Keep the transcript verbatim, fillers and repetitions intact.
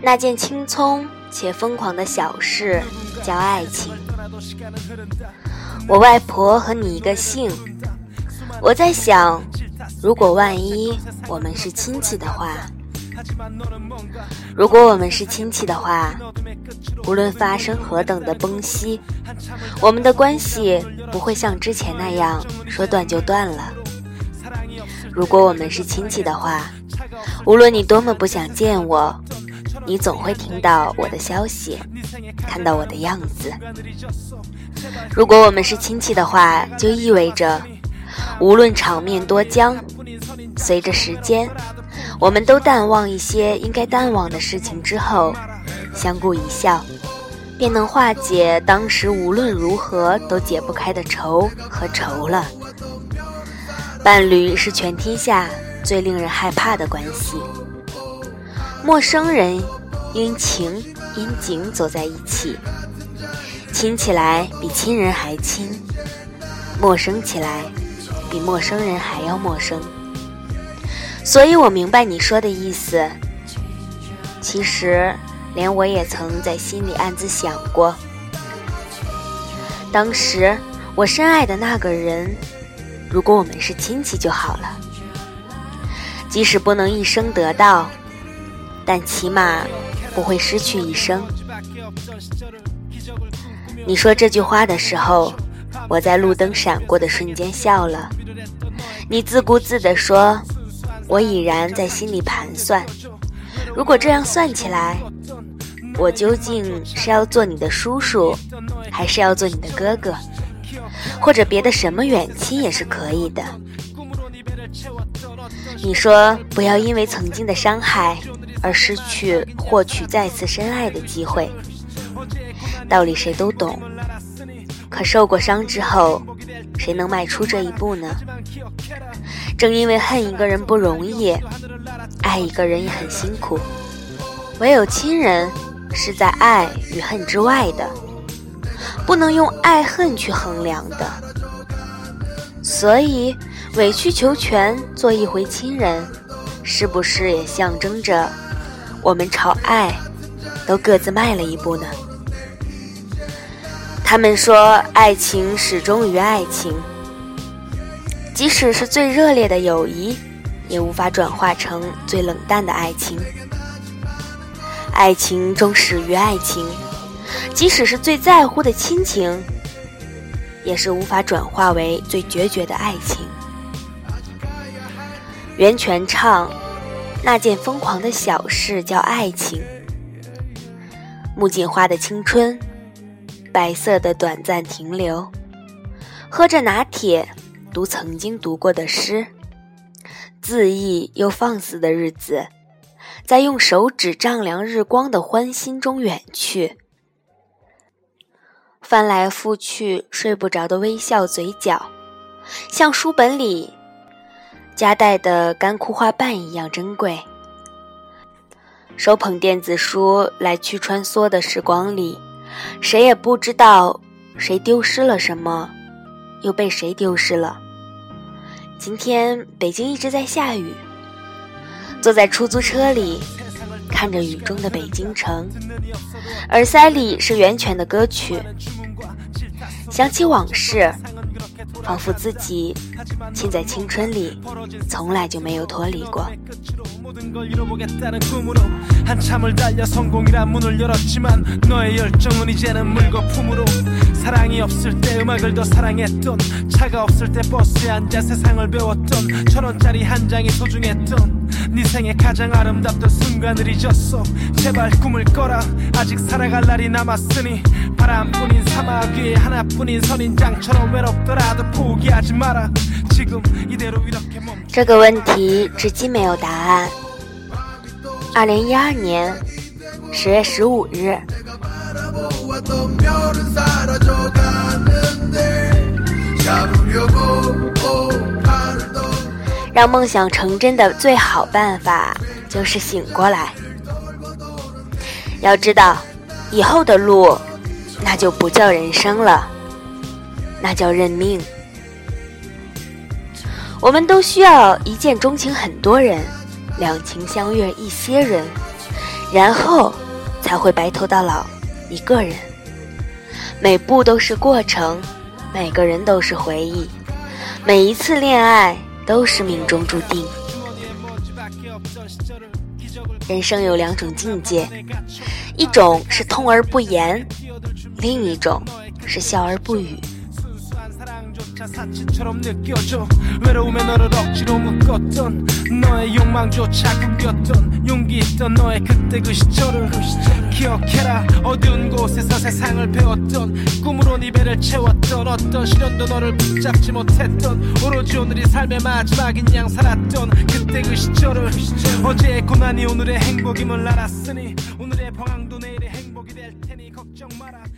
那件轻松且疯狂的小事叫爱情。我外婆和你一个姓，我在想，如果万一我们是亲戚的话，如果我们是亲戚的话，无论发生何等的崩稀，我们的关系不会像之前那样说断就断了。如果我们是亲戚的话，无论你多么不想见我，你总会听到我的消息，看到我的样子。如果我们是亲戚的话，就意味着无论场面多僵，随着时间我们都淡忘一些应该淡忘的事情之后，相顾一笑，便能化解当时无论如何都解不开的愁和愁了。伴侣是全天下最令人害怕的关系。陌生人因情因景走在一起，亲起来比亲人还亲，陌生起来比陌生人还要陌生。所以我明白你说的意思，其实连我也曾在心里暗自想过，当时我深爱的那个人，如果我们是亲戚就好了，即使不能一生得到，但起码不会失去一生。你说这句话的时候，我在路灯闪过的瞬间笑了。你自顾自地说，我已然在心里盘算，如果这样算起来，我究竟是要做你的叔叔，还是要做你的哥哥，或者别的什么远亲也是可以的。你说不要因为曾经的伤害而失去获取再次深爱的机会，道理谁都懂，可受过伤之后，谁能迈出这一步呢？正因为恨一个人不容易，爱一个人也很辛苦，唯有亲人是在爱与恨之外的，不能用爱恨去衡量的。所以委曲求全做一回亲人，是不是也象征着我们朝爱都各自迈了一步呢？他们说爱情始终于爱情，即使是最热烈的友谊，也无法转化成最冷淡的爱情。爱情终始于爱情，即使是最在乎的亲情，也是无法转化为最决绝的爱情。袁泉唱，那件疯狂的小事叫爱情。木槿花的青春，白色的短暂停留，喝着拿铁，读曾经读过的诗，恣意又放肆的日子，在用手指丈量日光的欢欣中远去。翻来覆去睡不着的微笑嘴角，像书本里夹带的干枯花瓣一样珍贵。手捧电子书来去穿梭的时光里，谁也不知道谁丢失了什么，又被谁丢失了。今天北京一直在下雨，坐在出租车里看着雨中的北京城，耳塞里是袁泉的歌曲，想起往事，仿佛自己浸在青春里，从来就没有脱离过。 한참을 달려 성공이란 문을 열었지만 너의 열정은 이제는 물거품으로 사랑이 없을 때 음악을 더 사랑했던 차가 없을 때 버스에 앉아 세상을 배웠던 천원짜리 한 장이 소중했던 네 생애 가장 아름답던 순간을 잊었어 제발 꿈을 꿔라 아직 살아갈 날이 남았으니 바람뿐인 사막 위에 하나뿐인 선인장처럼 외롭더라도 포기하지 마라 지금 이대로 이렇게 멈춰 这个问题至今没有答案。二零一二年十月十五日，让梦想成真的最好办法就是醒过来。要知道，以后的路那就不叫人生了，那叫认命。我们都需要一见钟情很多人，两情相悦一些人， 然后才会白头到老一个人。每步都是过程，每个人都是回忆，每一次恋爱都是命中注定。人生有两种境界，一种是痛而不言，另一种是笑而不语。 사치처럼 느껴져 외로움에 너를 억지로 묶었던 너의 욕망조차 굶겼던 용기 있던 너의 그때 그 시절을 기억해라. 어두운 곳에서 세상을 배웠던 꿈으로 네 배를 채웠던 어떤 시련도 너를 붙잡지 못했던 오로지 오늘이 삶의 마지막인 양 살았던 그때 그 시절을 어제의 고난이 오늘의 행복임을 알았으니 오늘의 방황도 내일의 행복이 될 테니 걱정 마라.